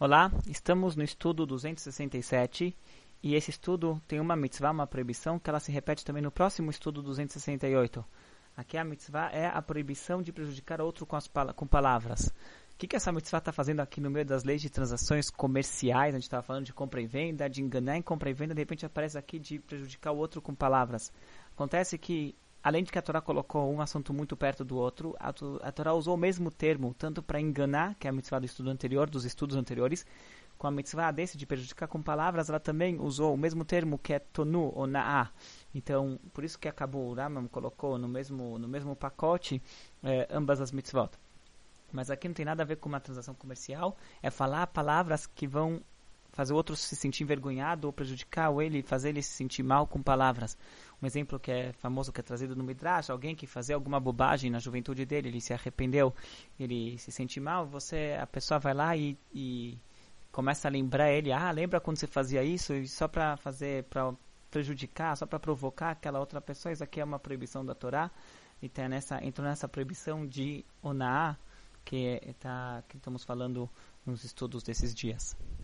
Olá, estamos no estudo 267 e esse estudo tem uma mitzvah, uma proibição, que ela se repete também no próximo estudo 268. Aqui a mitzvah é a proibição de prejudicar outro com palavras. O que essa mitzvah está fazendo aqui no meio das leis de transações comerciais? A gente estava falando de compra e venda, de enganar em compra e venda, de repente aparece aqui de prejudicar o outro com palavras. Acontece que, além de que a Torá colocou um assunto muito perto do outro, a Torá usou o mesmo termo, tanto para enganar, que é a mitzvah do estudo anterior, dos estudos anteriores, com a mitzvah desse de prejudicar com palavras, ela também usou o mesmo termo que é tonu ou na'a. Então, por isso que acabou, o Rambam colocou no mesmo pacote ambas as mitzvot. Mas aqui não tem nada a ver com uma transação comercial, é falar palavras que vão fazer o outro se sentir envergonhado ou prejudicar ou ele, fazer ele se sentir mal com palavras. Um exemplo que é famoso, que é trazido no Midrash, alguém que fazia alguma bobagem na juventude dele, ele se arrependeu, ele se sente mal, a pessoa vai lá e começa a lembrar ele, lembra quando você fazia isso, e só para prejudicar, só para provocar aquela outra pessoa. Isso aqui é uma proibição da Torá, e entrou nessa proibição de Onaá, que estamos falando nos estudos desses dias.